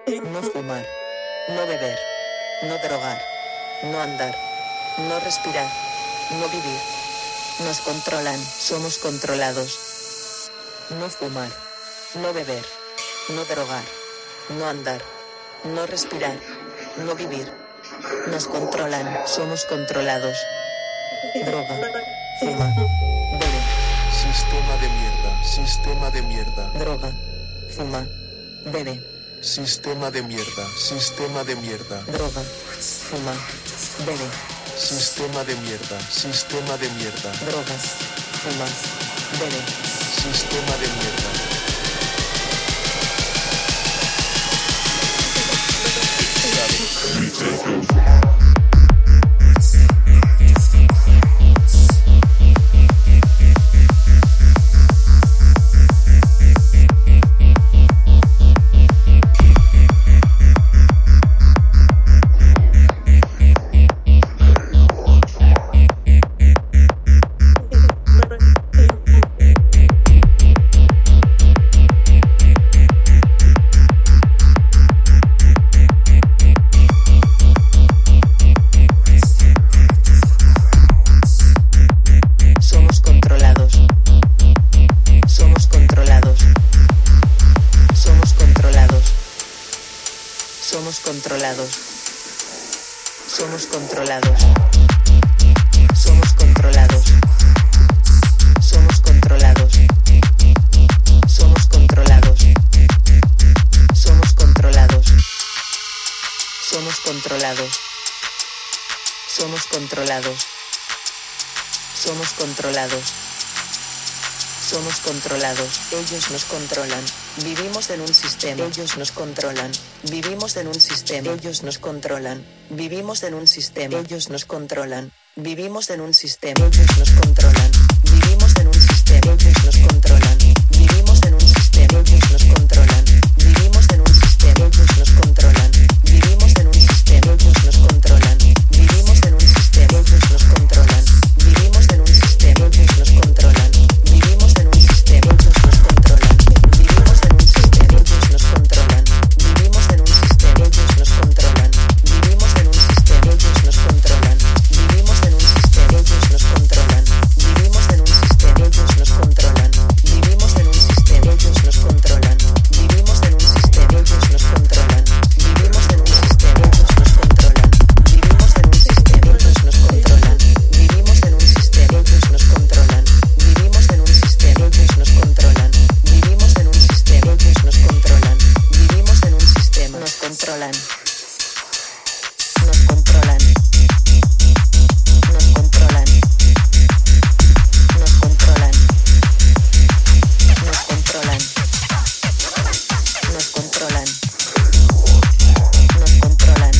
No fumar. No beber. No drogar. No andar. No respirar. No vivir. Nos controlan, somos controlados. No fumar. No beber. No drogar. No andar. No respirar. No vivir. Nos controlan, somos controlados. Droga. Fuma. Bebe. Sistema de mierda, sistema de mierda. Droga. Fuma. Bebe. Sistema de mierda, sistema de mierda. Droga. Fuma. Bebe. Sistema de mierda, sistema de mierda. Droga. Fuma. Bebe. Sistema de mierda. Somos controlados. Somos controlados. Somos controlados. Somos controlados. Somos controlados. Somos controlados. Somos controlados. Somos controlados. Somos controlados. Somos controlados. Ellos nos controlan. Vivimos en un sistema. Ellos nos controlan. Vivimos en un sistema. Ellos nos controlan. Vivimos en un sistema. Ellos nos controlan. Vivimos en un sistema. Ellos nos controlan. Vivimos en un sistema. Ellos nos controlan. Vivimos en un sistema. Ellos nos controlan. Vivimos en un sistema. Ellos nos controlan. Vivimos en un sistema. Ellos nos controlan. Vivimos en un sistema. Ellos nos controlan. Vivimos en un sistema. Ellos nos controlan. Vivimos en un sistema. Ellos nos controlan. Vivimos en un sistema. Ellos nos controlan. Vivimos en un sistema. Ellos nos controlan. Vivimos en un sistema. Ellos nos controlan. Vivimos en un sistema. Ellos nos controlan. Vivimos en un sistema. Ellos nos controlan. Vivimos en un sistema. Ellos nos controlan. Vivimos en un sistema. Ellos nos controlan. Vivimos en un sistema. Ellos nos controlan. Vivimos en un sistema. Ellos nos controlan. Vivimos en un sistema. Ellos nos controlan. Vivimos en un sistema. Ellos nos controlan. Vivimos en un sistema. Ellos nos controlan. Vivimos en un sistema. Nos controlan. Nos controlan. Nos controlan. Nos controlan. Nos controlan. Nos controlan. Nos controlan.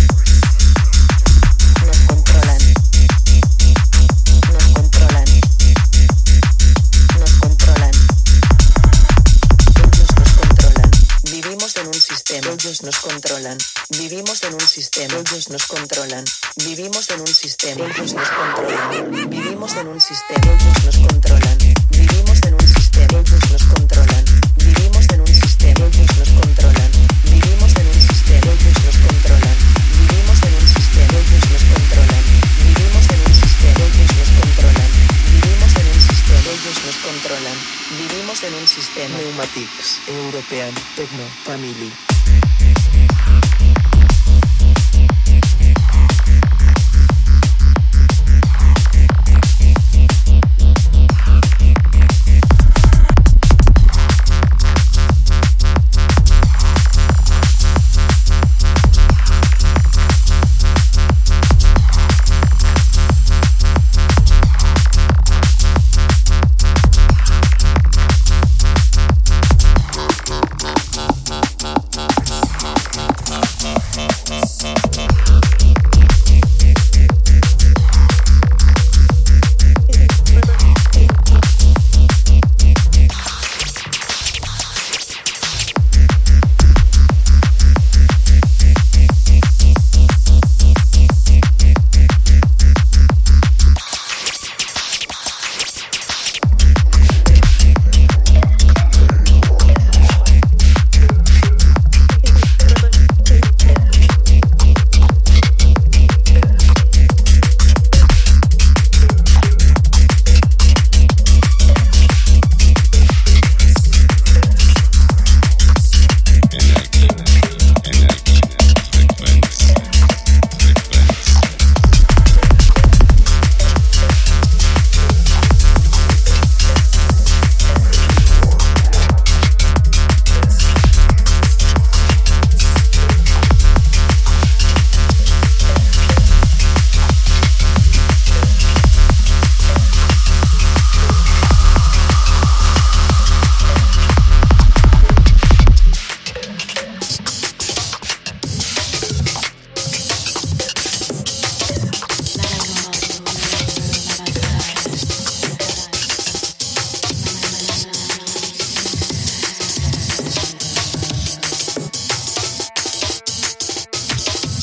Nos controlan. Nos controlan. Nos controlan. Ellos nos controlan. Vivimos en un sistema. Ellos nos controlan. Vivimos en un sistema. Ellos nos controlan. Vivimos en un sistema. Ellos nos controlan. Vivimos en un sistema. Ellos nos controlan. Vivimos en un sistema. Ellos nos controlan. Vivimos en un sistema. Ellos nos controlan. Vivimos en un sistema. Ellos nos controlan. Vivimos en un sistema. Ellos nos controlan. Vivimos en un sistema. Ellos nos controlan. Vivimos en un sistema. Ellos nos controlan. Vivimos en un sistema. Pneumatics European Techno Family.